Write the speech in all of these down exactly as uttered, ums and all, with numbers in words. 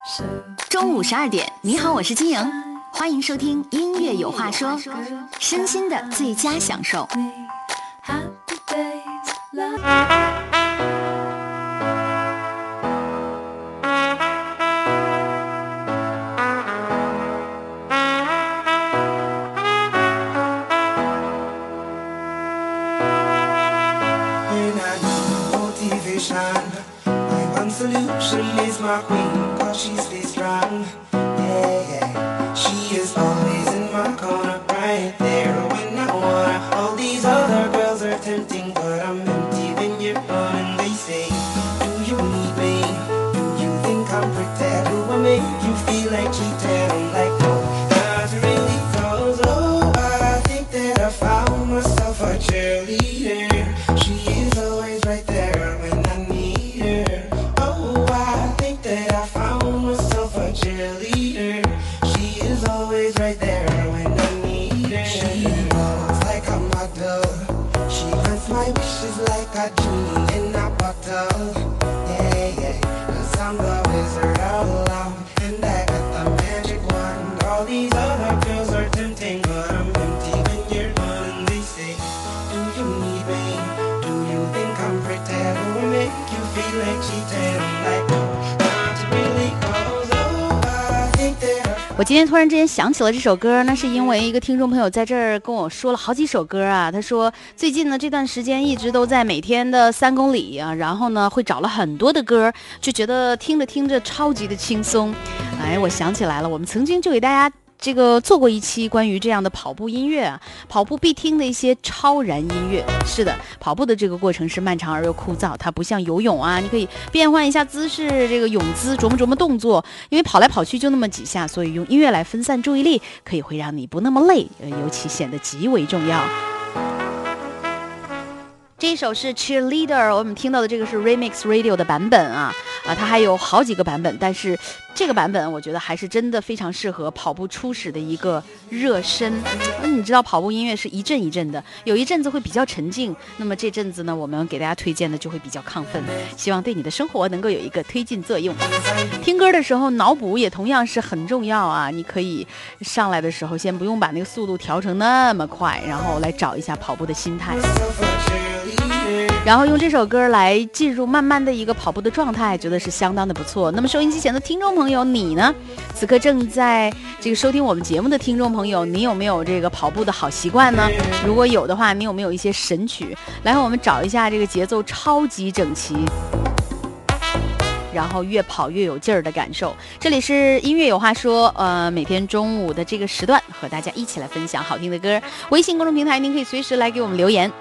中午十二点，你好，我是金莹，欢迎收听音乐有话说，身心的最佳享受。 Solution is my queen, cause she stays strong. Yeah, yeah. She is always in my corner, right there when I wanna. All these other girls are tempting, but I'm empty when you're gone. And they say, do you need me? Do you think I'm pretend? Do I make you feel like cheating? I'm like, no, not really, cause oh, I think that I found myself a cheerleader. She is always right there when I need her. That I found myself a cheerleader. She is always right there when I need her. She looks like a model. She grants my wishes like a genie in a bottle. Yeah, yeah, cause I'm the wizard of love, and I got the magic wand. All these other girls are tempting, but I'm empty when you're gone. And they say, do you need me? Do you think I'm pretty? Do I make you feel like cheating? I'm like, no. 我今天突然之间想起了这首歌，那是因为一个听众朋友在这儿跟我说了好几首歌啊。他说最近呢这段时间一直都在每天的三公里啊，然后呢会找了很多的歌，就觉得听着听着超级的轻松。哎，我想起来了，我们曾经就给大家这个做过一期关于这样的跑步音乐啊，跑步必听的一些超燃音乐。是的，跑步的这个过程是漫长而又枯燥，它不像游泳啊，你可以变换一下姿势，这个泳姿琢磨琢磨动作，因为跑来跑去就那么几下，所以用音乐来分散注意力，可以会让你不那么累，尤其显得极为重要。这一首是 Cheerleader， 我们听到的这个是 Remix Radio 的版本啊，啊，它还有好几个版本，但是这个版本我觉得还是真的非常适合跑步初始的一个热身。你知道跑步音乐是一阵一阵的，有一阵子会比较沉静，那么这阵子呢，我们给大家推荐的就会比较亢奋，希望对你的生活能够有一个推进作用。听歌的时候脑补也同样是很重要啊，你可以上来的时候先不用把那个速度调成那么快，然后来找一下跑步的心态，然后用这首歌来进入慢慢的一个跑步的状态，觉得是相当的不错。那么收音机前的听众朋友，你呢？此刻正在这个收听我们节目的听众朋友，你有没有这个跑步的好习惯呢？如果有的话，你有没有一些神曲？来和我们找一下这个节奏超级整齐，然后越跑越有劲儿的感受。这里是音乐有话说，呃，每天中午的这个时段和大家一起来分享好听的歌。微信公众平台您可以随时来给我们留言。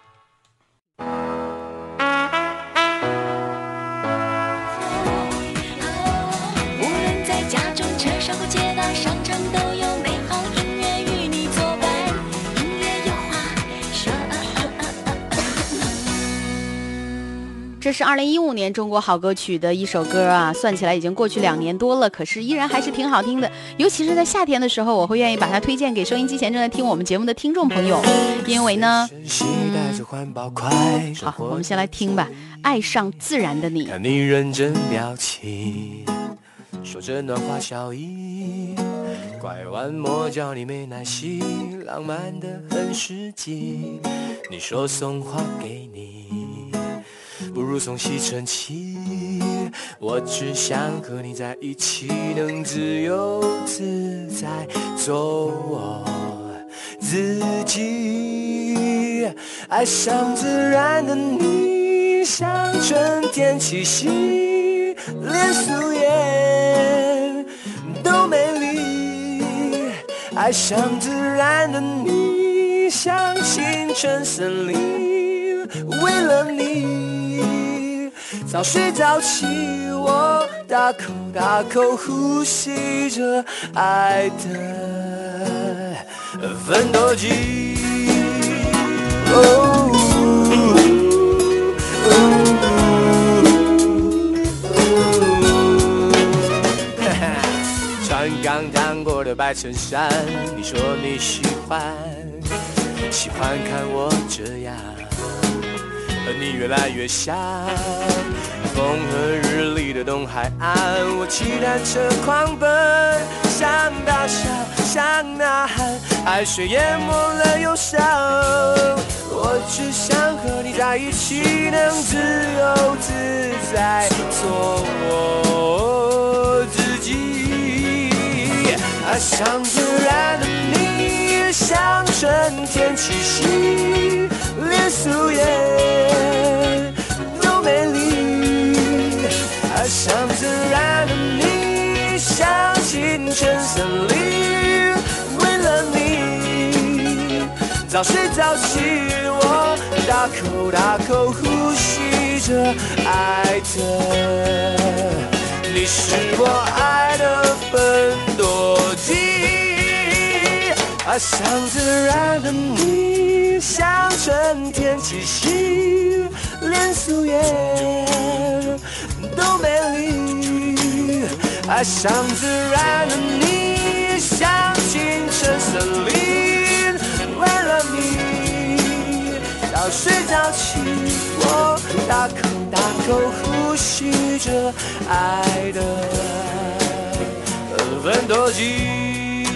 这是二零一五年中国好歌曲的一首歌啊，算起来已经过去两年多了，可是依然还是挺好听的。尤其是在夏天的时候，我会愿意把它推荐给收音机前正在听我们节目的听众朋友，因为呢，嗯，好，我们先来听吧，《爱上自然的你》。 看你认真表情，说着暖话笑意，拐弯抹角你没耐心，浪漫的很实际。你说送花给你，不如送吸尘器，我只想和你在一起，能自由自在做我自己。爱上自然的你，像春天气息，连树叶都美丽。爱上自然的你，像清晨森林，为了你早睡早起，我大口大口呼吸着爱的奋斗机。哦穿刚烫过的白衬衫，你说你喜欢，喜欢看我这样，和你越来越像，风和日丽的着东海岸，我骑单车狂奔，想大笑，想呐喊，海水淹没了忧伤。我只想和你在一起，能自由自在做我自己。爱上自然的你，像春天气息，连树叶都美丽。爱上自然的你，像清晨森林，为了你早睡早起，我大口大口呼吸着爱的，你是我爱的分多金。爱上自然的你，像春天气息，连树叶都美丽。爱上自然的你，像清晨森林，为了你早睡早起，我大口大口呼吸着爱的分多金。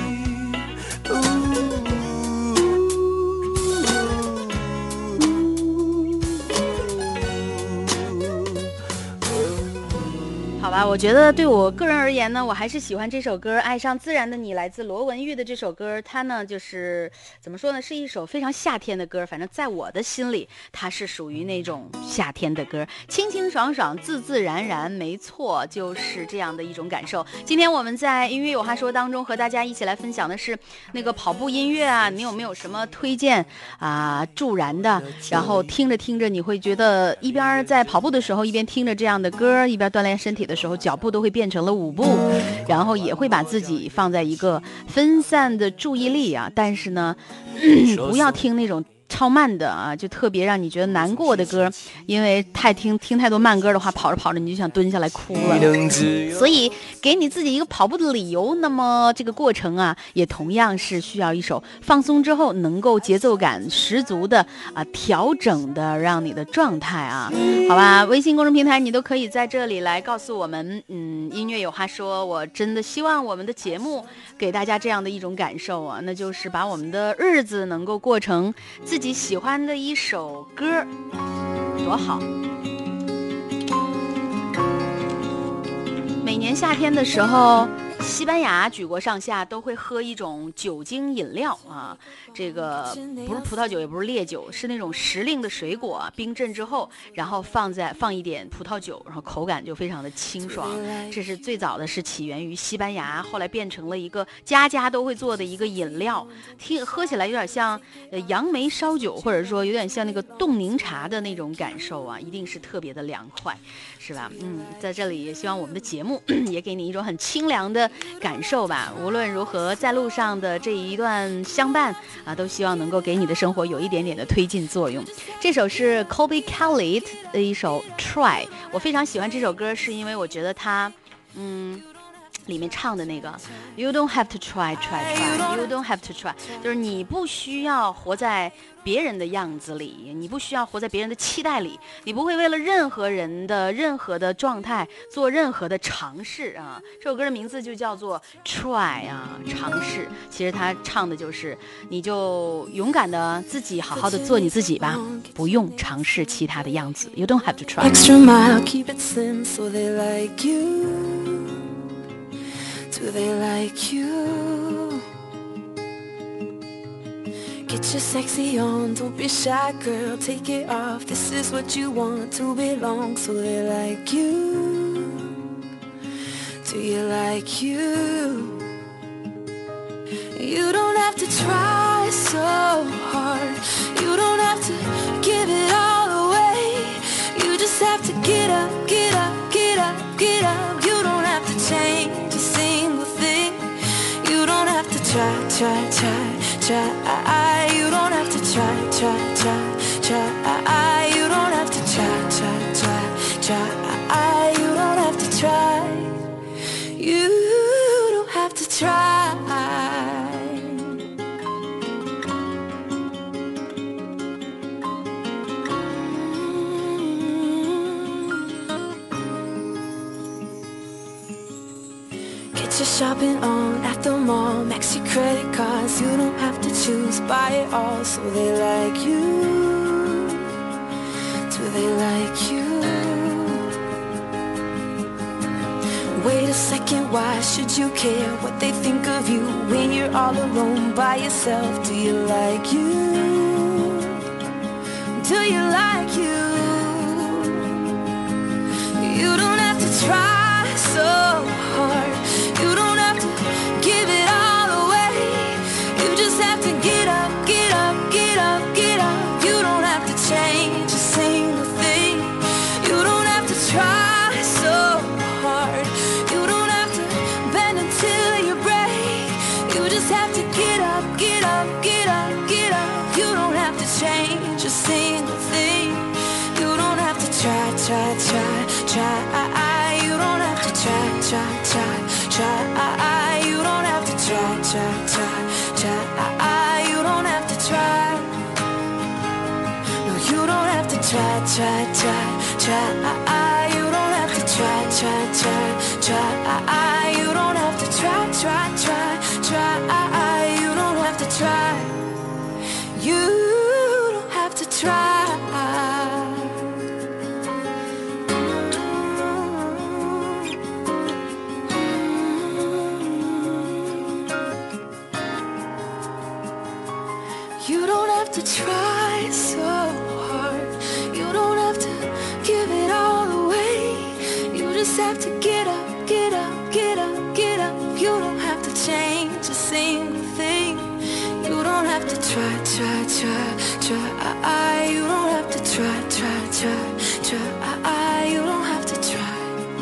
好吧，我觉得对我个人而言呢，我还是喜欢这首歌《爱上自然的你》，来自罗文玉的这首歌。它呢，就是怎么说呢，是一首非常夏天的歌。反正在我的心里，它是属于那种夏天的歌，清清爽爽，自自然然，没错，就是这样的一种感受。今天我们在音乐有话说当中和大家一起来分享的是那个跑步音乐啊，你有没有什么推荐啊、呃、助燃的？然后听着听着，你会觉得一边在跑步的时候一边听着这样的歌，一边锻炼身体的时候，脚步都会变成了舞步，然后也会把自己放在一个分散的注意力啊，但是呢，不要听那种超慢的啊，就特别让你觉得难过的歌，因为太听听太多慢歌的话，跑着跑着你就想蹲下来哭了。所以给你自己一个跑步的理由，那么这个过程啊，也同样是需要一首放松之后能够节奏感十足的啊调整的，让你的状态啊，好吧，微信公众平台你都可以在这里来告诉我们，嗯，音乐有话说，我真的希望我们的节目给大家这样的一种感受啊，那就是把我们的日子能够过成自己喜欢的一首歌，多好。每年夏天的时候，西班牙举国上下都会喝一种酒精饮料啊，这个不是葡萄酒也不是烈酒，是那种时令的水果冰镇之后，然后放在放一点葡萄酒，然后口感就非常的清爽。这是最早的是起源于西班牙，后来变成了一个家家都会做的一个饮料，听喝起来有点像呃杨梅烧酒，或者说有点像那个冻柠茶的那种感受啊，一定是特别的凉快，是吧？嗯，在这里也希望我们的节目也给你一种很清凉的感受吧。无论如何，在路上的这一段相伴啊，都希望能够给你的生活有一点点的推进作用。这首是 Colby Kelly 的一首 Try， 我非常喜欢这首歌，是因为我觉得它嗯里面唱的那个 You don't have to try try try You don't have to try， 就是你不需要活在别人的样子里，你不需要活在别人的期待里，你不会为了任何人的任何的状态做任何的尝试啊。这首歌的名字就叫做 Try 啊，尝试。其实他唱的就是你就勇敢的自己好好的做你自己吧，不用尝试其他的样子。 You don't have to try Extra mile, keep it slim so they like you. Do they like you? Get your sexy on, don't be shy, girl, take it off. This is what you want, to belong, so they like you. Do you like you? You don't have to try so hard. You don't have to give it all away. You just have to get up, get up, get up, get up. You don't have to change a single thing. You don't have to try, try, try, try. You don't have to try, try, try, try. You don't have to try, try, try, try. You don't have to try. You don't have to try. you're shopping on at the mall, max your credit cards, you don't have to choose, buy it all. So they like you, do they like you? Wait a second, why should you care what they think of you when you're all alone by yourself? Do you like you? Do you like you? You don't have to try so hard. You don't have to give it all away. You just have to get up, get up, get up, get up. You don't have to change a single thing. You don't have to try so hard. You don't have to bend until you break. You just have to get up, get up, get up, get up. You don't have to change a single thing. You don't have to try, try, try, try. You don't have to try, try, try, try. You don't have to try, try, try, try. You don't have to try. No, you don't have to try, try, try, try. You don't have to try, try, try, try. You don't have to try, try, try, try. You don't have to try. You don't have to try. You don't have to try so hard. You don't have to give it all away. You just have to get up, get up, get up, get up. You don't have to change a single thing. You don't have to try, try, try, try. You don't have to try, try, try, try. You don't have to try.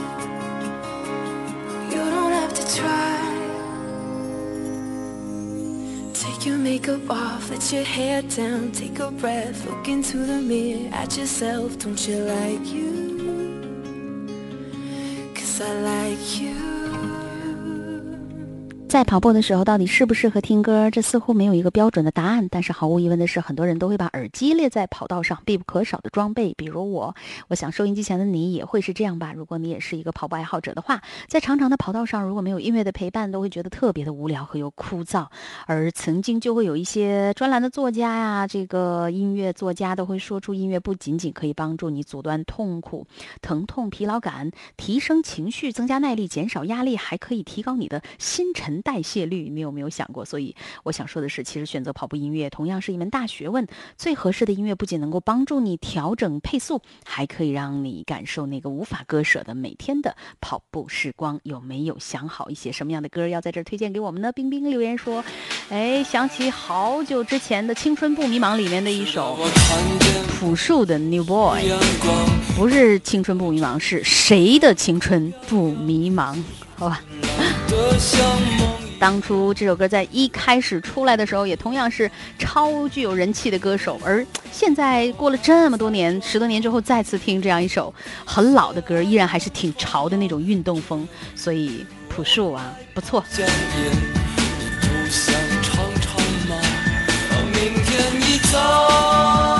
You don't have to try. Take your makeup off, let your hair down, take a breath, look into the mirror at yourself. Don't you like you? 'Cause I like you. 在跑步的时候到底适不适合听歌，这似乎没有一个标准的答案，但是毫无疑问的是，很多人都会把耳机列在跑道上必不可少的装备。比如我我想收音机前的你也会是这样吧。如果你也是一个跑步爱好者的话，在长长的跑道上如果没有音乐的陪伴，都会觉得特别的无聊和又枯燥。而曾经就会有一些专栏的作家呀，这个音乐作家都会说出，音乐不仅仅可以帮助你阻断痛苦、疼痛、疲劳感，提升情绪，增加耐力，减少压力，还可以提高你的新陈代谢率。你有没有想过？所以我想说的是，其实选择跑步音乐同样是一门大学问。最合适的音乐不仅能够帮助你调整配速，还可以让你感受那个无法割舍的每天的跑步时光。有没有想好一些什么样的歌要在这儿推荐给我们呢？冰冰留言说，哎，想起好久之前的《青春不迷茫》里面的一首朴树的 New Boy， 不是青春不迷茫，是谁的青春不迷茫？好吧。当初这首歌在一开始出来的时候，也同样是超具有人气的歌手，而现在过了这么多年，十多年之后再次听这样一首很老的歌，依然还是挺潮的那种运动风，所以朴树啊，不错。明天一早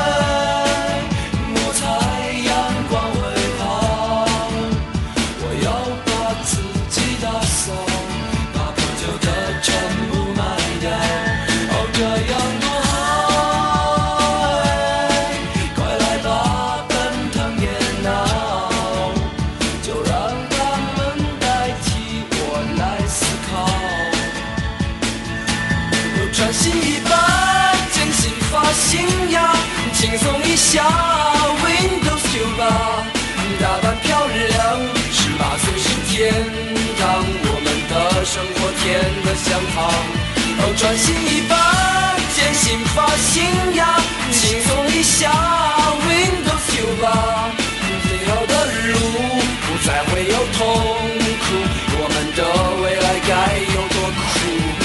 轻松一下 Windows 九吧，打扮漂亮，十八岁是天堂，我们的生活甜得像糖。哦，专心一把，坚信发新呀，轻松一下 Windows 九吧，最后的路不再会有痛苦，我们的未来该有多酷。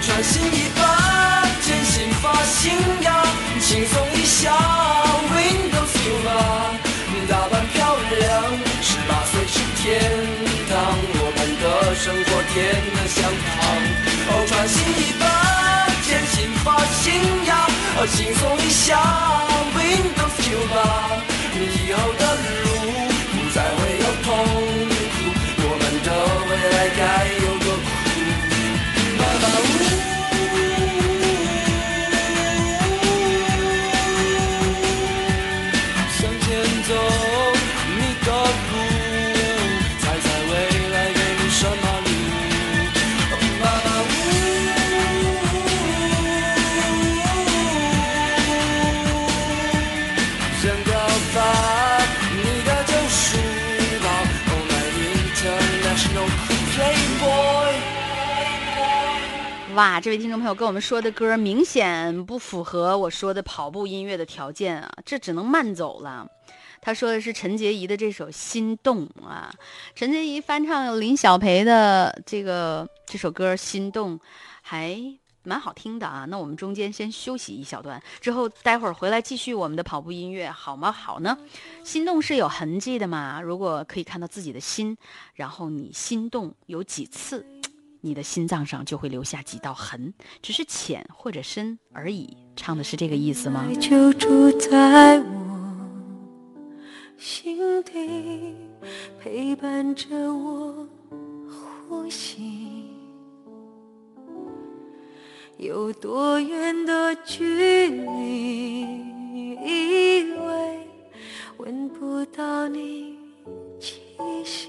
穿新衣吧，剪新发型呀，轻松一下 Windows 九吧，打扮漂亮，十八岁是天堂，我们的生活甜得像糖。哦，穿新衣吧，剪新发型呀，轻松一下 Windows 九吧，以后的路不再会有痛苦，我们的未来该有多酷。妈妈呜，向前走，你的路，猜猜未来给你什么路？妈妈呜，想要把你的救赎吧 ，Oh my international playboy。 哇，这位听众朋友跟我们说的歌明显不符合我说的跑步音乐的条件啊，这只能慢走了。他说的是陈洁仪的这首《心动》啊，陈洁仪翻唱林小培的这个这首歌《心动》，还蛮好听的啊。那我们中间先休息一小段，之后待会儿回来继续我们的跑步音乐，好吗？好呢。心动是有痕迹的嘛，如果可以看到自己的心，然后你心动有几次，你的心脏上就会留下几道痕，只是浅或者深而已。唱的是这个意思吗？ 爱就住在我心底，陪伴着我呼吸。有多远的距离，以为闻不到你气息，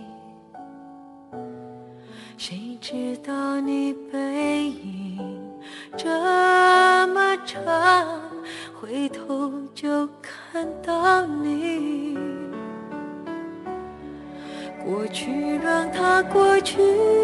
谁知道你背影这么长，回头就看到你。过去让它过去，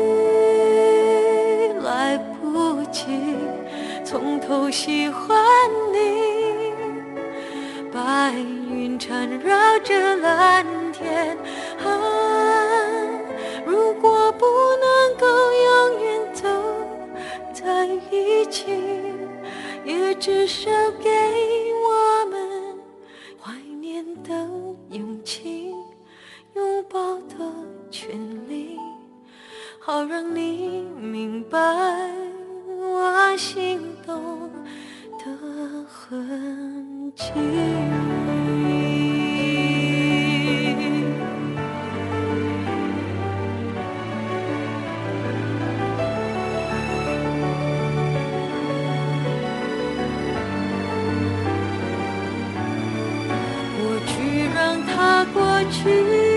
来不及从头喜欢你。白云缠绕着蓝天啊，如果不能够永远走在一起，也至少给我们怀念的勇气，拥抱的权利，好让你明白我心动的痕迹。过去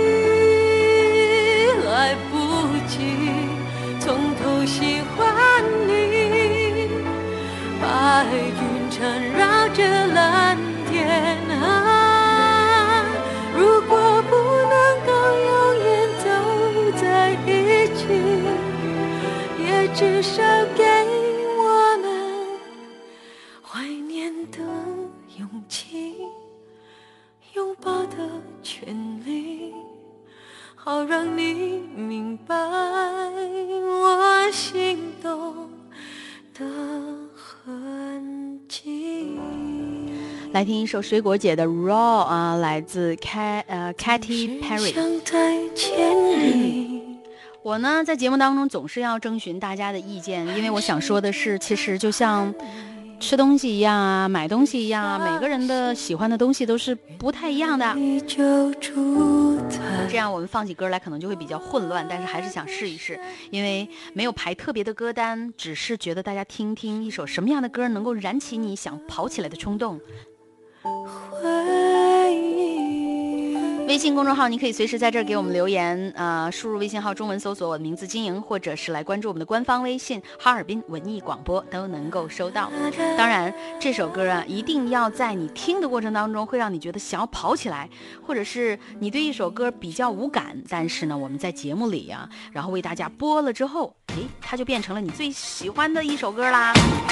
来不及从头喜欢你，白云缠绕着蓝天啊，如果不能够永远走在一起，也至少给我们怀念的勇气，拥抱的权利，好让你明白我心动的痕迹。 来听一首水果姐的 Raw 啊，来自 Cat 呃 Katy Perry。 想在千里。 我呢在节目当中总是要征询大家的意见，因为我想说的是，其实就像吃东西一样啊，买东西一样啊，每个人的喜欢的东西都是不太一样的。这样我们放起歌来可能就会比较混乱，但是还是想试一试，因为没有排特别的歌单，只是觉得大家听听一首什么样的歌能够燃起你想跑起来的冲动。微信公众号你可以随时在这儿给我们留言，呃，输入微信号中文搜索我的名字金莹，或者是来关注我们的官方微信哈尔滨文艺广播，都能够收到。当然这首歌啊，一定要在你听的过程当中会让你觉得想要跑起来，或者是你对一首歌比较无感，但是呢我们在节目里啊，然后为大家播了之后，诶，它就变成了你最喜欢的一首歌啦。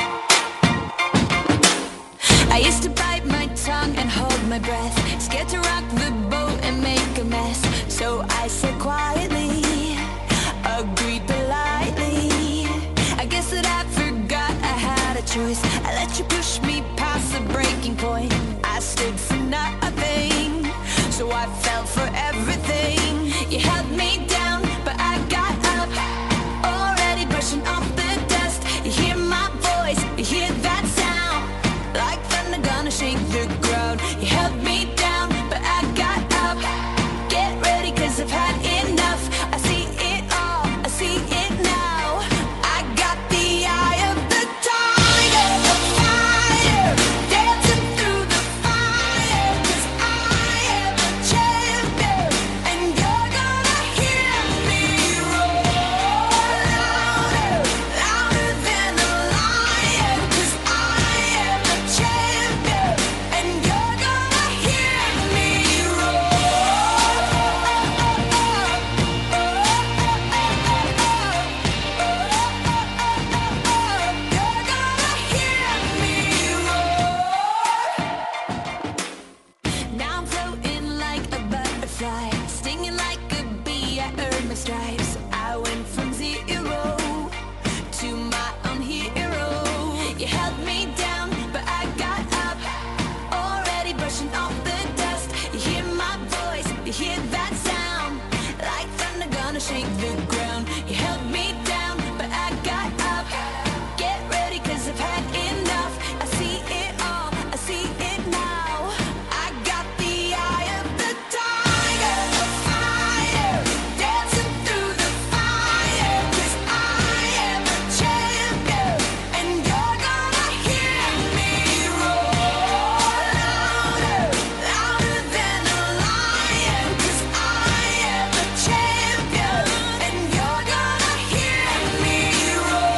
I used to bite my tongue and hold my breath, scared to rock the boat and make a mess. So I said quietly, agreed politely. I guess that I forgot choice. I let you push me past the breaking point. I stood for nothing, so I fell for everything. You held me down, but I got up, already brushing off the dust. You hear my voice, you hear that sound, like thunder gonna shake the ground. You held me down, but I got up. Get ready, cause I've had enough. I see it all, I see it now. I got the eye of the tiger, the fire, dancing through the fire. Cause I am a champion, and you're gonna hear me roar louder, louder than a lion. Cause I am a champion, and you're gonna hear me Now I'm floating like a butterfly, stinging like a bee. I earned my stripes. I went from zero to my own hero. You held me down, but I got up, already brushing off the dust. You hear my voice, you hear that sound, like thunder gonna shake the ground. You held me down, but I got up. Get ready, cause I've had enough. I see it all, I see it now. I got the eye of the tiger, the fire, dancing through the fire. Cause I am a champion, and you're gonna hear me roar louder, louder than a lion. Cause I am a champion, and you're gonna hear me roar.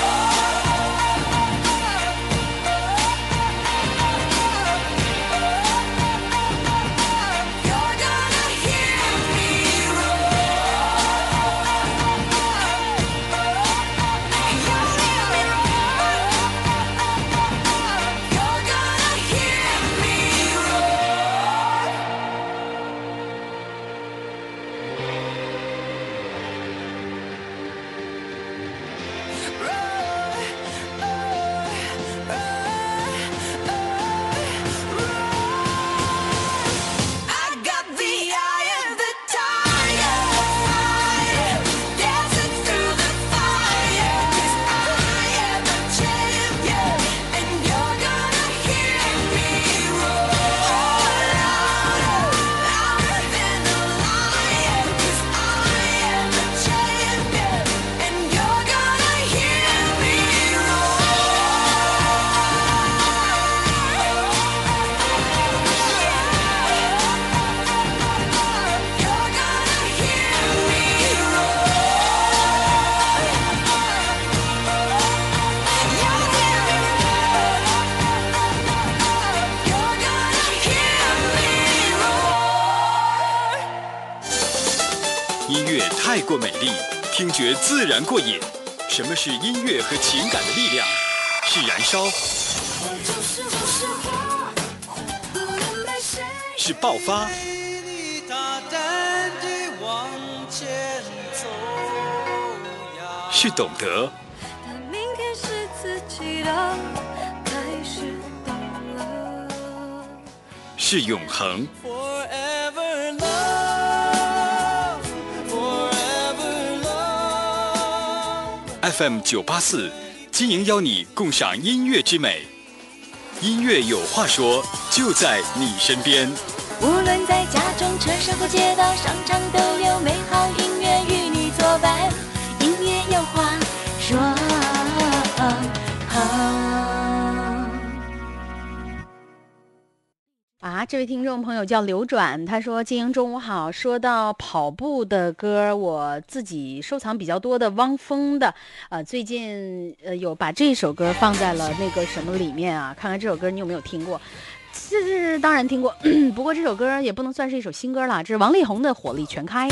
You're gonna hear me I got the eye of the tiger, fire, dancing through the fire. Cause I am a champion, and you're gonna hear me roar louder, louder than a lion. Cause I am a champion, and you're gonna hear me You're gonna hear me You're gonna hear me roar. 音乐太过美丽，听觉自然过瘾。什么是音乐和情感的力量？是燃烧，是爆发，是懂得， 明天是自己的，开始懂了。 是永恒。 Forever love, forever love. F M 九八四，金莹邀你共赏音乐之美。音乐有话说，就在你身边。 无论在家中、车上或街道、商场，都有美好音乐与你作伴。音乐有话说。 啊，这位听众朋友叫刘转，他说：“金莹中午好。说到跑步的歌，我自己收藏比较多的汪峰的，呃，最近呃有把这首歌放在了那个什么里面啊？看看这首歌你有没有听过？这是当然听过，不过这首歌也不能算是一首新歌了，这是王力宏的《火力全开》。”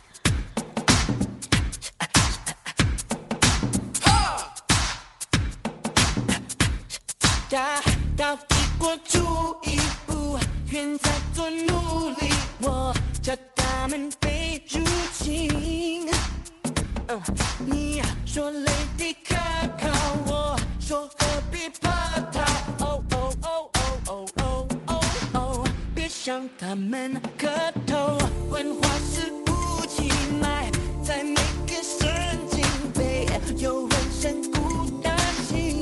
大到抵过出一步，愿再做努力，我叫他们被入侵。嗯，你说 Lady 可靠，我说何必怕。 他们磕头，问话是无情脉，在每个神经被有人深孤单心，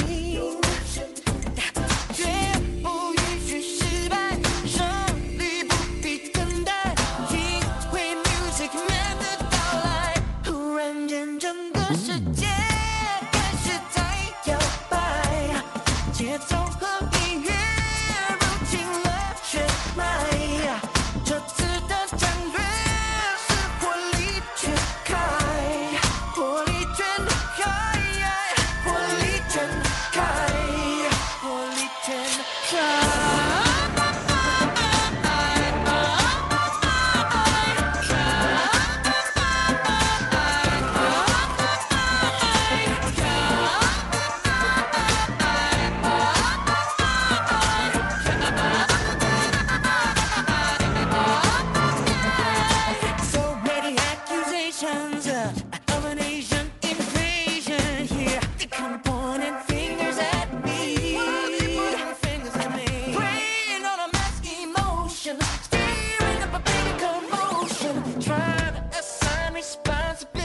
绝不允许失败，胜利不必等待，因为 Music Man 的到来，忽然间整个世界开始在摇摆，节奏和音乐入侵了血脉，这次的战略是火力全开，火力全开，火力全开，火力全开。So many accusations of an Asian invasion here. They come pointing fingers at me. Fingers at me. Preying on a mass emotion, stirring up a big commotion, trying to assign responsibilities.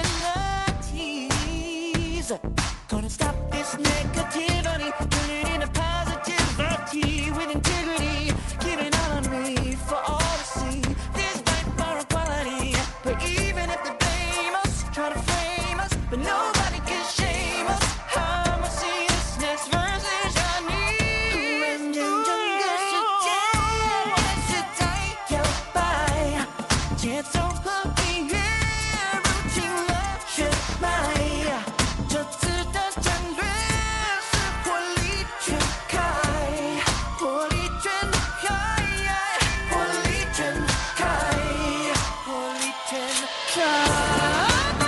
Gonna stop this negativity, turn it into positivity with integrity, giving all on me for all to see. This fight for equality, but even if they blame us, try to frame us, but nobody can shame us. How much seriousness versus your need? 忽然间整个世界开始在摇摆，节奏和音乐入侵了血脉，这次的战略是火力全开，火力全开，火力全开，火力全开。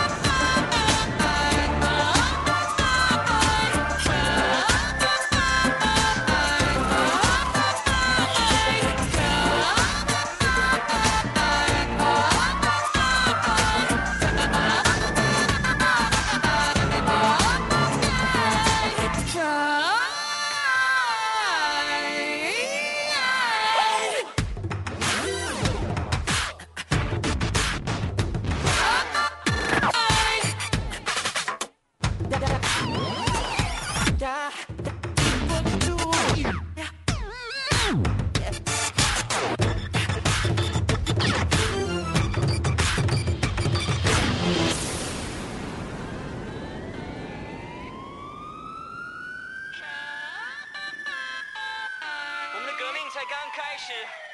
我们的革命才刚开始，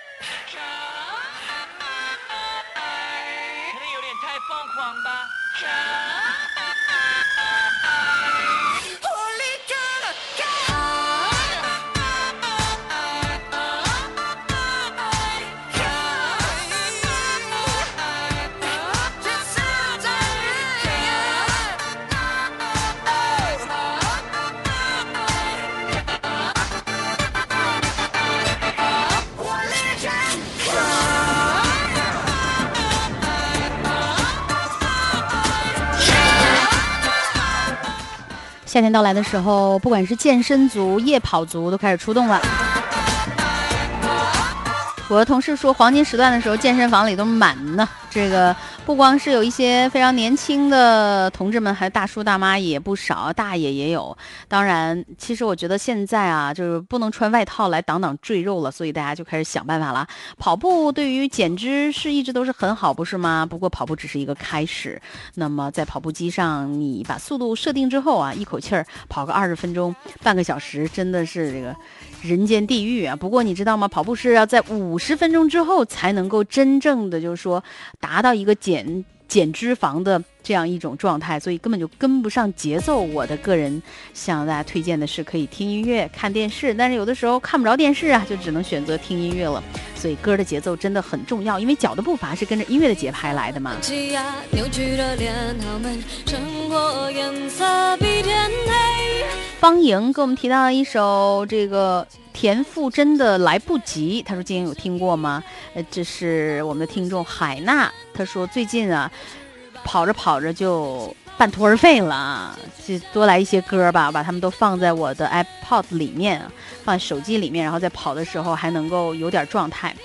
可能有点太疯狂吧。 火力全开，这次战火力全夏天到来的时候，不管是健身族、夜跑族都开始出动了。我的同事说，黄金时段的时候，健身房里都满呢。这个不光是有一些非常年轻的同志们，还有大叔大妈也不少，大爷也有。当然，其实我觉得现在啊，就是不能穿外套来挡挡赘肉了，所以大家就开始想办法了。跑步对于减脂是一直都是很好，不是吗？不过跑步只是一个开始。那么在跑步机上，你把速度设定之后啊，一口气儿跑个二十分钟、半个小时，真的是这个人间地狱啊！不过你知道吗？跑步是要在五十分钟之后才能够真正的就是说达到一个减减脂肪的这样一种状态，所以根本就跟不上节奏。我的个人向大家推荐的是可以听音乐、看电视，但是有的时候看不着电视啊，就只能选择听音乐了。所以歌的节奏真的很重要，因为脚的步伐是跟着音乐的节拍来的嘛。 扭曲的脸，好们生活颜色比天黑。 方莹给我们提到了一首这个田馥甄的来不及，他说今天有听过吗？呃，这是我们的听众海娜，他说最近啊跑着跑着就半途而废了，就多来一些歌吧，把它们都放在我的 iPod 里面，放在手机里面，然后在跑的时候还能够有点状态。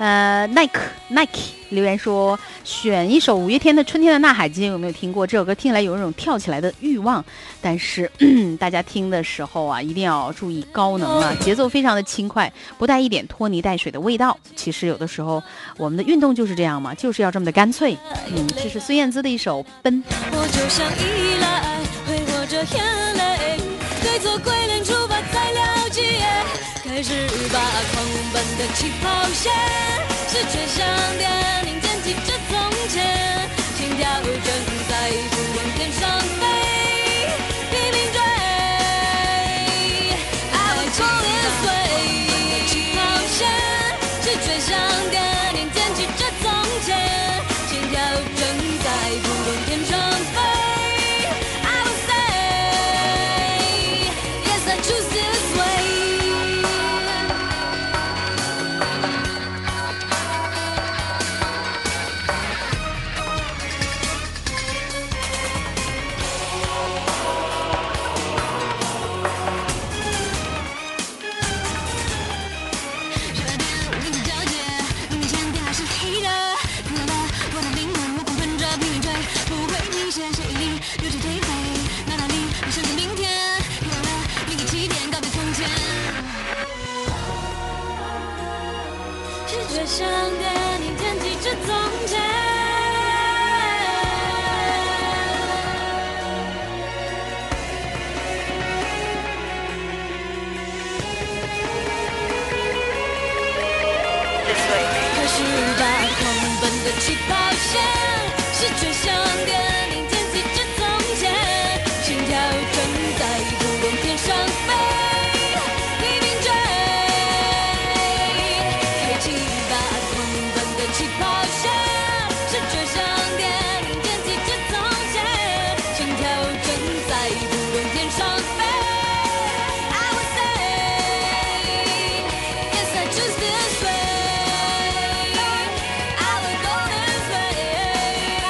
呃，Nike Nike 留言说，选一首五月天的《春天的呐喊》，今天有没有听过？这首歌听起来有一种跳起来的欲望，但是大家听的时候啊，一定要注意高能啊，节奏非常的轻快，不带一点拖泥带水的味道。其实有的时候我们的运动就是这样嘛，就是要这么的干脆。嗯，这是孙燕姿的一首《奔》。 我就像依赖，挥霍着眼泪，对错归零出发才了解，开始把狂奔的起跑线，是却像电影捡起着从前，心跳正在不往天上飞，拼命追。I will go this way， 起跑线是却像电影捡起着从前，心跳正在不往天上飞。I will say yes, I choose this way。像电影剪辑着从前，开始把狂奔的起跑线，是却像电影剪辑着从前，心跳正在不往天上飞。起跑线是却像电影剪辑着从前，心跳正在不往天上飞。I will say yes, I choose this way. I will go this way.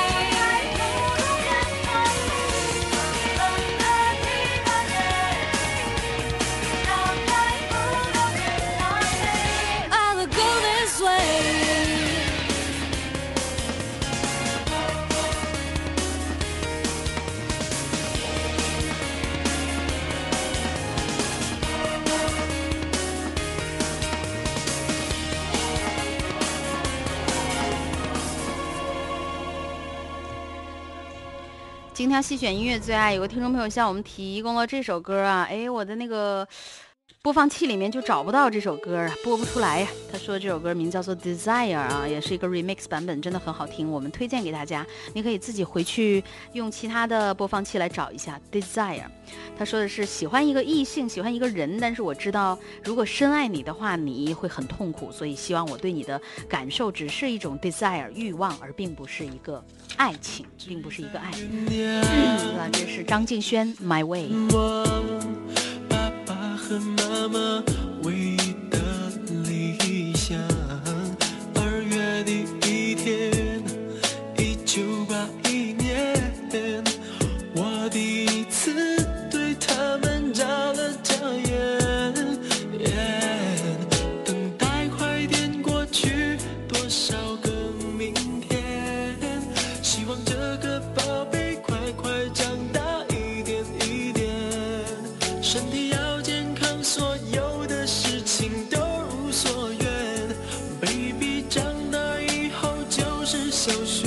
今天细选音乐最爱，有个听众朋友向我们提供了这首歌啊，哎，我的那个播放器里面就找不到这首歌啊，播不出来呀。他说这首歌名叫做 Desire 啊，也是一个 remix 版本，真的很好听，我们推荐给大家，你可以自己回去用其他的播放器来找一下 Desire。他说的是喜欢一个异性，喜欢一个人，但是我知道如果深爱你的话，你会很痛苦，所以希望我对你的感受只是一种 desire 欲望，而并不是一个爱情，并不是一个爱。嗯，这是张敬轩 My Way。 爸爸和妈妈唯一的理想，二月的一天，一九八一年，我第一次对他们眨了眨眼，等待快点过去，多少个明天，希望这个宝贝快快长大一点一点，身体要健康，所有的事情都如所愿 ，baby 长大以后就是小学。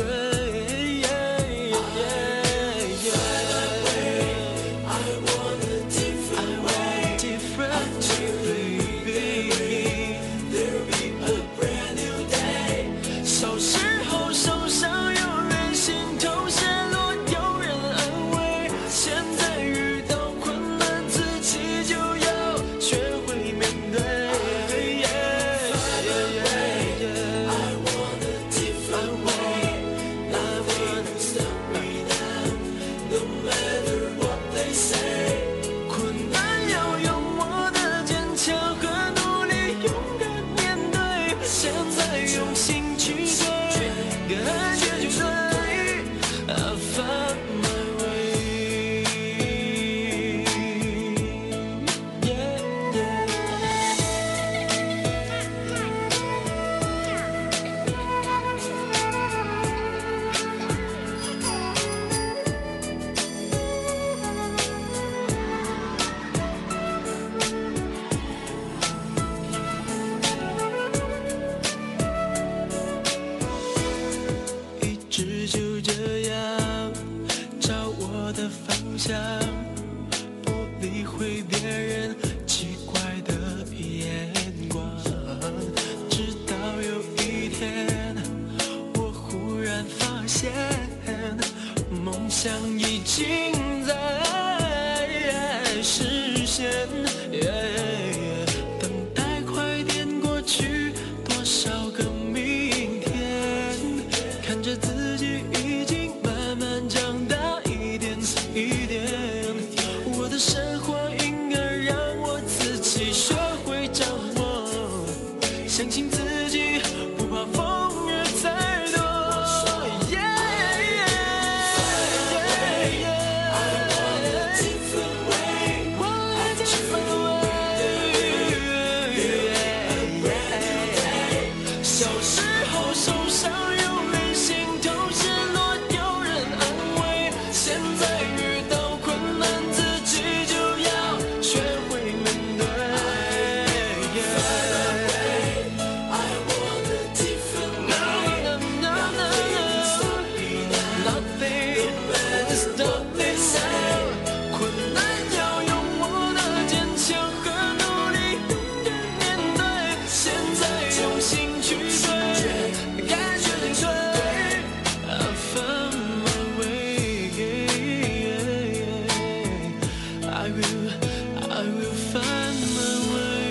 理会别人奇怪的眼光，直到有一天，我忽然发现，梦想已经在实现。等待快点过去，多少个明天，看着自己已经慢慢长大，一点一点。我的生活应该让我自己学会掌握，相信自己，不怕风雨再多。小时候受伤有人心痛，失落有人安慰，现在遇到困难自己就要学会面对。Nothing is stopping now， 困难要用我的坚强和努力勇敢面对，现在用心去追，感觉进退。I found my way， I will, I will find my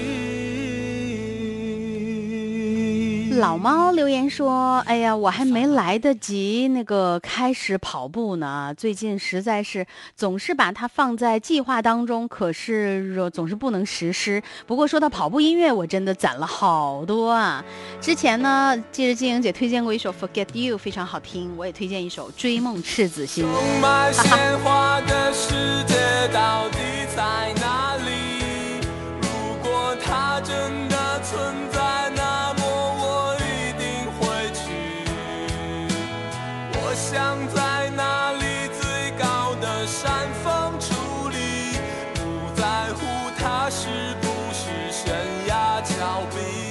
way。 老猫留言说：“哎呀，我还没来得及那个开始跑步呢，最近实在是总是把它放在计划当中，可是呃总是不能实施。不过说到跑步音乐，我真的攒了好多啊！之前呢，记得静莹姐推荐过一首《Forget You》，非常好听，我也推荐一首《追梦赤子心》。 充满鲜花的世界到底在哪里？如果它真的存在，那么我一定会去。我想在那里最高的山峰矗立，不在乎它是不是悬崖峭壁。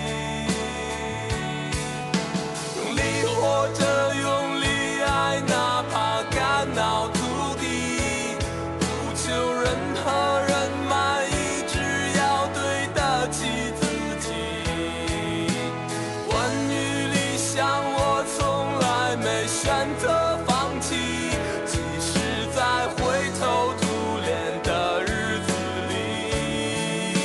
用力活着，用力爱，哪怕肝脑涂地，不求任何人满意，只要对得起自己。关于理想，我从来没选择放弃，即使在灰头土脸的日子里。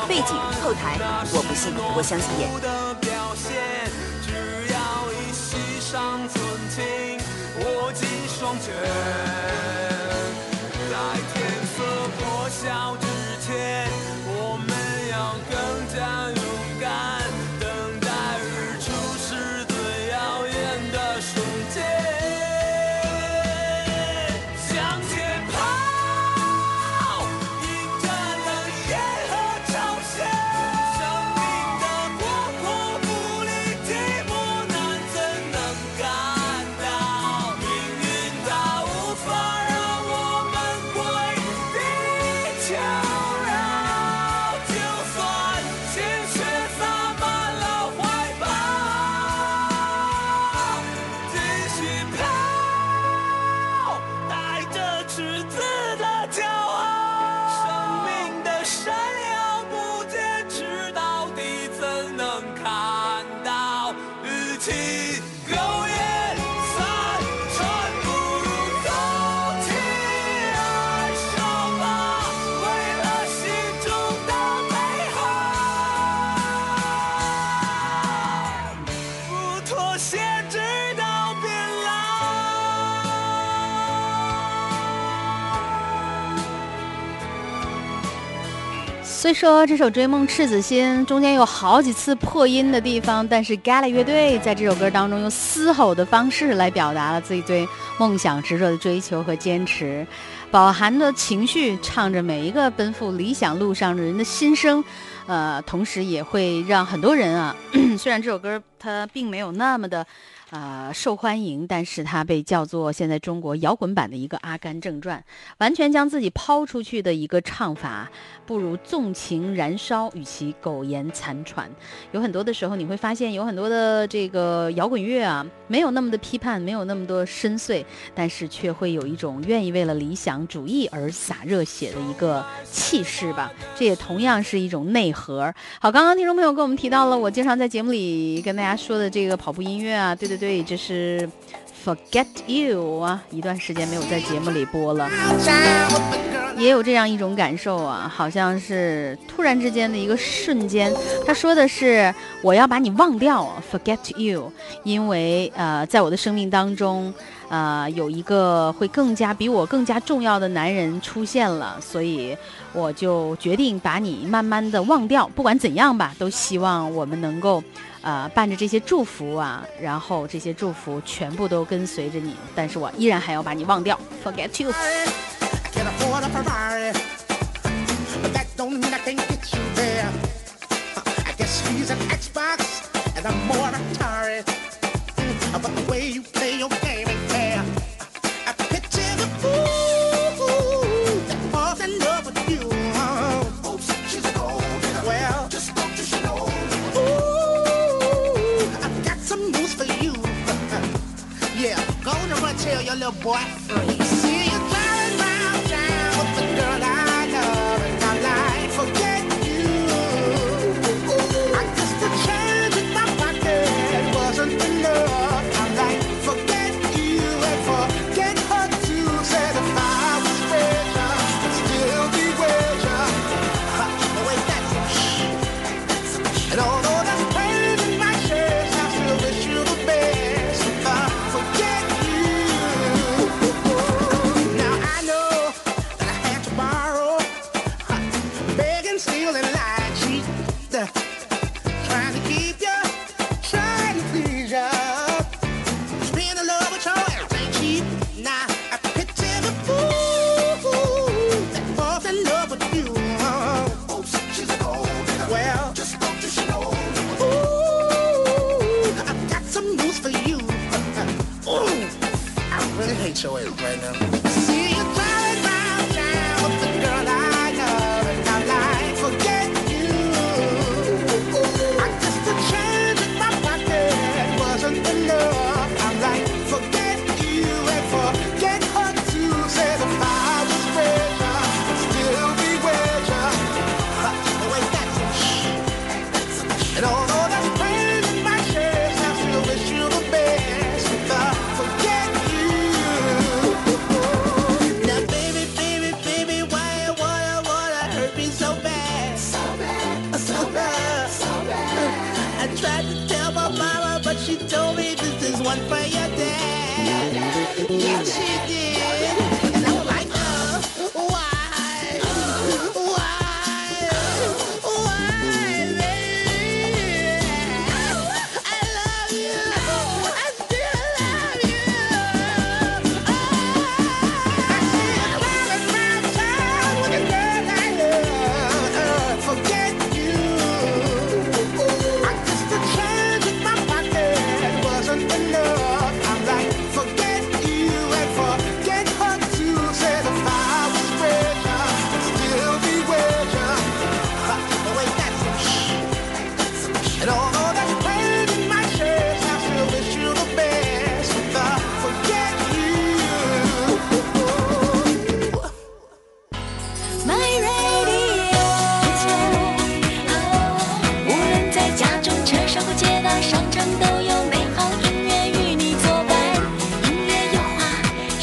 背景、后台，我不信，我相信演。 的表现，只要一息尚存情，握紧双拳，在天色破晓之前，我们要更加勇敢，等待日出是最耀眼的瞬间。向前跑，迎着冷夜和潮汐，生命的广阔不离寂寞难怎能感到？命运它无法让我们归地求饶，就算鲜血洒满了怀抱，继续跑，带着赤子的骄傲。生命的闪耀不坚持到底，怎能看到？与其苟延残喘，不如走起来，手吧，为了心中的美好，不妥协直到变老。 虽说这首《追梦赤子心》中间有好几次破音的地方，但是 Gala 乐队在这首歌当中用嘶吼的方式来表达了自己对梦想执着的追求和坚持，饱含的情绪唱着每一个奔赴理想路上的人的心声，呃，同时也会让很多人啊，虽然这首歌它并没有那么的呃，受欢迎，但是它被叫做现在中国摇滚版的一个《阿甘正传》，完全将自己抛出去的一个唱法，不如纵情燃烧，与其苟延残喘。有很多的时候，你会发现有很多的这个摇滚乐啊，没有那么的批判，没有那么多深邃，但是却会有一种愿意为了理想主义而洒热血的一个气势吧。这也同样是一种内核。好，刚刚听众朋友跟我们提到了我经常在节目里跟大家说的这个跑步音乐啊，对对对，这是 Forget You 啊，一段时间没有在节目里播了，也有这样一种感受啊，好像是突然之间的一个瞬间。他说的是我要把你忘掉 Forget You， 因为呃，在我的生命当中呃，有一个会更加比我更加重要的男人出现了，所以我就决定把你慢慢的忘掉。不管怎样吧，都希望我们能够呃，伴着这些祝福啊，然后这些祝福全部都跟随着你，但是我依然还要把你忘掉 Forget You。 Can afford a Ferrari, but that don't mean I can't get you there. I guess he's an Xbox and I'm more Atari. But the way you play your game ain't fair. I picture the fool that falls in love with you. Oops, she's an old girl. Well, just don't you know? Ooh, I've got some news for you. Yeah, go on and run tell your little boy free. See you driving round town with the girl I love, and I'm like, forget you. I guess the change in my pocket wasn't enough. I'm like, forget you and forget her too. Said if I was richer, I'd still be richer. But wait, that's and although that's pain in my chest, I still wish you the best. If I forget you. Now I know that I had to borrow, begging, stealing, lying, cheat, trying to keep you, trying to please you. Being in love with your ass ain't cheap. Now I picture the fool that falls in love with you. Oops, she's an old girl. Well, just don't you know? Ooh, I've got some news for you. Ooh, I really hate your ass right now. See you driving round town with the girl I love, and I'm like, forget you. I guess the change in my pocket wasn't enough. I'm like, forget you and forget her too. Said if I was richer, I'd still be richer. But wait, that's and although that's pain in my chest, I still wish you the best. If I forget you. Yes, she did. And I was like, uh, why? Why? Why, baby? I love you. I still love you. Oh, I see a cloud in my town with a girl I love. Uh, forget you. I guess the change in my pocket wasn't enough. I'm like, forget you and forget her too. Said if I was richer, I'd still be with you. But wait, that's some shit. And although that's pain in my chest, I still wish you the best. But forget you. My radio，无论在家中、车上或街道、商场，都有美好音乐与你作伴。音乐有话说。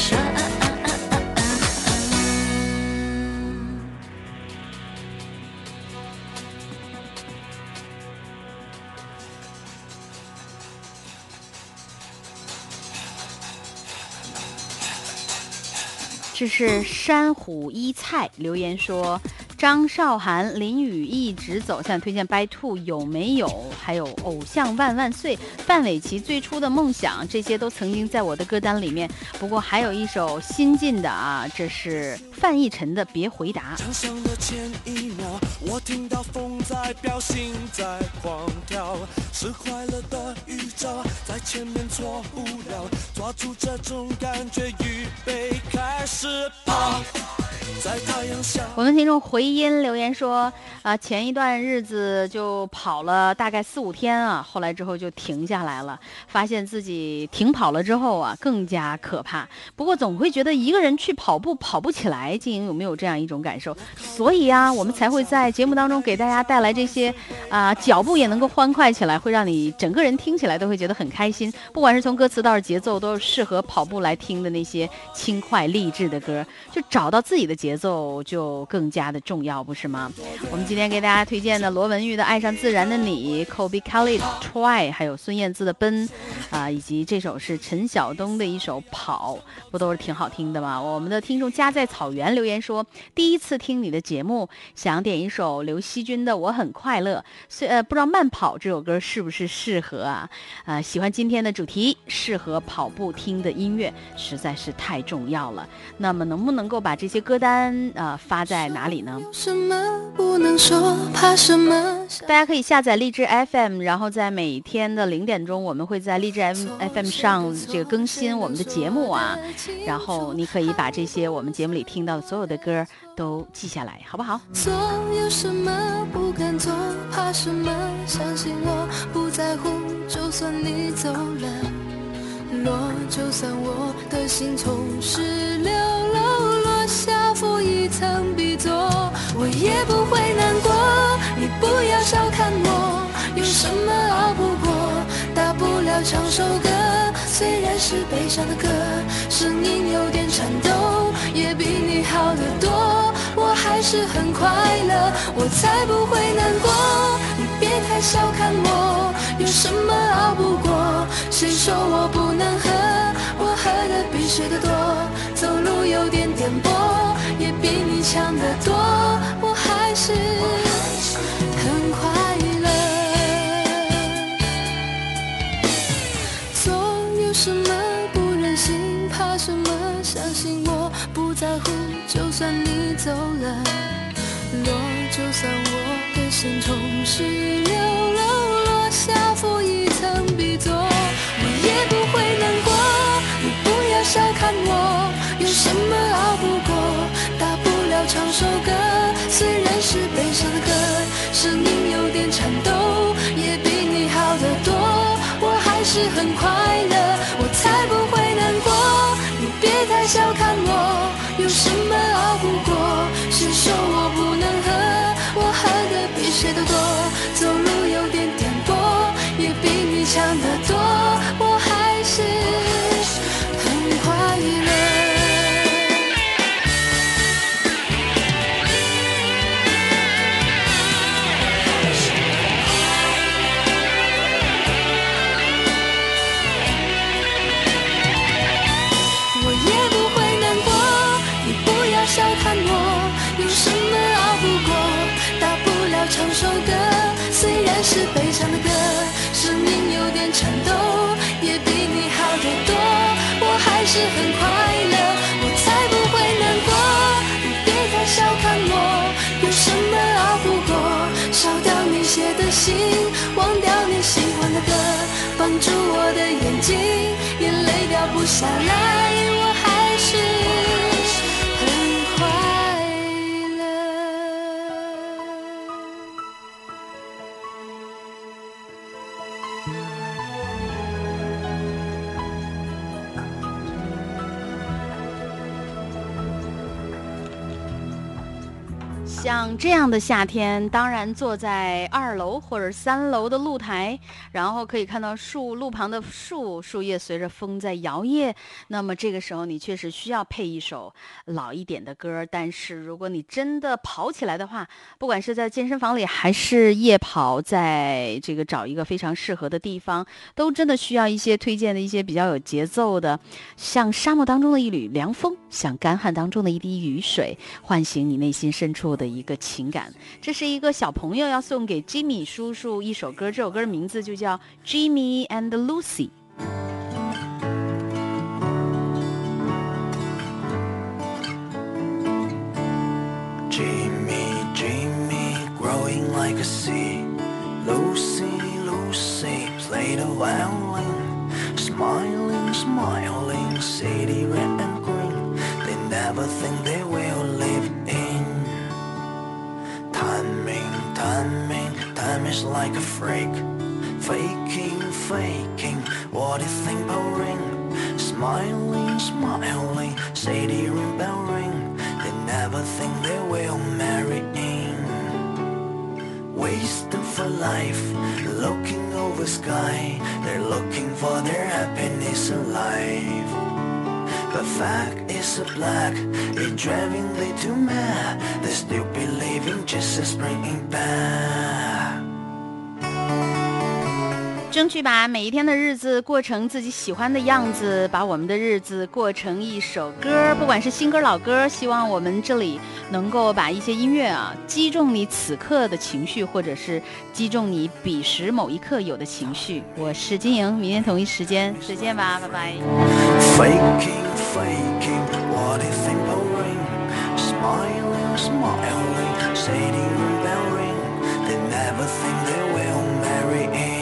这是山虎一菜留言说，张韶涵、林雨一直走向推荐 By Two 有没有？还有偶像万万岁、范玮琪最初的梦想，这些都曾经在我的歌单里面。不过还有一首新进的啊，这是范逸臣的《别回答》。 场上的前一秒，我听到风在飙，心在狂跳，是快乐的预兆，在前面错不了，抓住这种感觉，预备开始跑，在太阳下。 我们听众回音留言说，啊、呃，前一段日子就跑了大概四五天啊，后来之后就停下来了，发现自己停跑了之后啊，更加可怕。不过总会觉得一个人去跑步跑不起来，静莹有没有这样一种感受？所以啊，我们才会在节目当中给大家带来这些啊、呃，脚步也能够欢快起来，会让你整个人听起来都会觉得很开心。不管是从歌词到是节奏，都是适合跑步来听的那些轻快励志的歌，就找到自己的节奏就更加的重要，不是吗？我们今天给大家推荐的罗文玉的《爱上自然的你》， Kobe Kelly Try， 还有孙燕姿的奔啊、呃，以及这首是陈晓东的一首跑，不都是挺好听的吗？我们的听众家在草原留言说，第一次听你的节目，想点一首刘惜君的《我很快乐》，虽呃不知道慢跑这首歌是不是适合啊？呃，喜欢今天的主题，适合跑步听的音乐实在是太重要了。那么能不能够把这些歌单呃发在哪里呢？ 什么不能说，怕什么？ 大家可以下载荔枝 F M， 然后在每天的零点钟，我们会在荔枝 F M 上这个更新我们的节目啊，然后你可以把这些我们节目里听到的所有的歌都记下来，好不好？ 做有什么不敢做，怕什么？相信我不在乎，就算你走了，落，就算我的心从十六楼落下，负一层笔座，我也不会难过。你不要小看我，有什么熬不过？大不了唱首歌，虽然是悲伤的歌，声音有点颤抖，也比你好得多。我还是很快乐，我才不会难过。你别太小看我，有什么熬不过？谁说我不能喝？我喝的比谁的多，走路有点颠簸，也比你强得多。我还是很快乐。做有什么不忍心，怕什么？相信我不在乎，就算你走了，落，就算我的心从十六楼落下，负一层笔座，我也不会难过。你不要小看我，有什么熬不过？大不了唱首歌，虽然是悲伤的歌，声音有点颤抖，也比你好得多。我还是很快乐，我才不会难过。你别太小看我，有什么熬不过？谁说我不能喝？我喝的比谁都多，走路有点颠簸，也比你强得多。我还是很快乐。我是很快乐，我才不会难过。你别太小看我，有什么熬不过？烧掉你写的信，忘掉你喜欢的歌，绑住我的眼睛，眼泪掉不下来，我还是很快乐。 像这样的夏天，当然坐在二楼或者三楼的露台，然后可以看到树路旁的树树叶随着风在摇曳。那么这个时候你确实需要配一首老一点的歌，但是如果你真的跑起来的话，不管是在健身房里还是夜跑，在这个找一个非常适合的地方，都真的需要一些推荐的一些比较有节奏的，像沙漠当中的一缕凉风，像干旱当中的一滴雨水，唤醒你内心深处的一个情感。这是一个小朋友要送给 Jimmy 叔叔一首歌，这首歌的名字就叫 Jimmy and Lucy。 Jimmy, Jimmy, growing like a seed. Lucy, Lucy, play the violin. Smiling, smiling, city red and green. They never think they will live in. Timing, timing, time is like a freak. Faking, faking, what do you think about ring? Smiling, smiling, city ring bell ring. They never think they will marry in. Wasting for life, looking over sky. They're looking for their happiness in life. But fact is a black, it driving they too mad. They still believing Jesus bringing back. 争取把每一天的日子过成自己喜欢的样子，把我们的日子过成一首歌，不管是新歌老歌，希望我们这里能够把一些音乐啊击中你此刻的情绪，或者是击中你彼时某一刻有的情绪。我是金莹，明天同一时间再见吧，拜拜。 Faking, faking, what do you think about ring? Smiling, smiling, city ring bell ring. They never think they will marry in.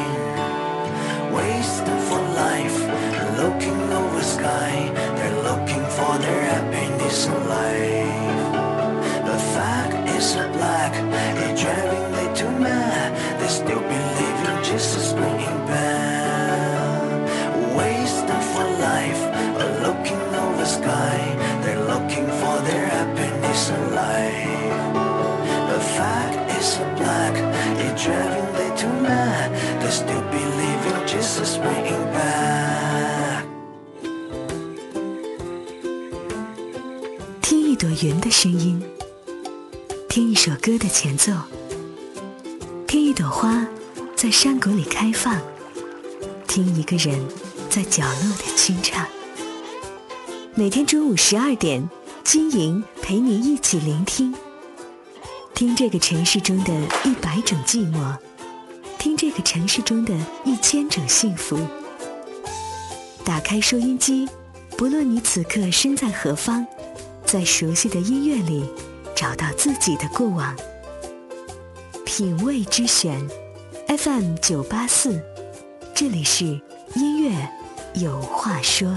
Wasting for life, looking over sky. They're looking for their happiness in life. The fact is a black, it driving they too mad. They still believe in Jesus bringing back. Wasting for life, looking over sky. They're looking for their happiness in life. The fact is a black, it driving they too mad. They still believe in Jesus bringing back. 听一朵云的声音，听一首歌的前奏，听一朵花在山谷里开放，听一个人在角落的清唱。每天中午十二点，金莹陪你一起聆听，听这个城市中的一百种寂寞，听这个城市中的一千种幸福。打开收音机，不论你此刻身在何方，在熟悉的音乐里找到自己的过往。品味之选 F M 九八四，这里是音乐有话说。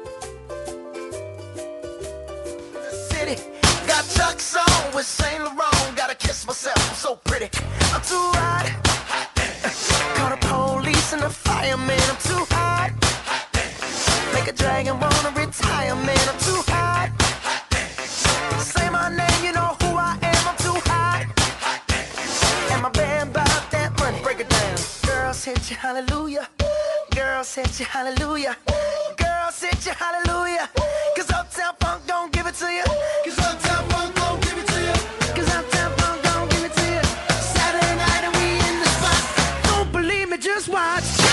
Got Chuck's on with Saint Laurent. Gotta kiss myself, I'm so pretty. I'm too hot. Call the police and the fireman. I'm too hot. Make a dragon wanna retire, man. I'm too hot. Say my name, you know who I am. I'm too hot. And my band bought that money. Break it down. Girls hit you, hallelujah. Girls hit you, hallelujah. Girls hit you, hallelujah. Cause Uptown Funk don't give it to you. Cause Uptown Funk don't give it to you. Cause Uptown Funk don't give it to you. Saturday night and we in the spot. Don't believe me, just watch.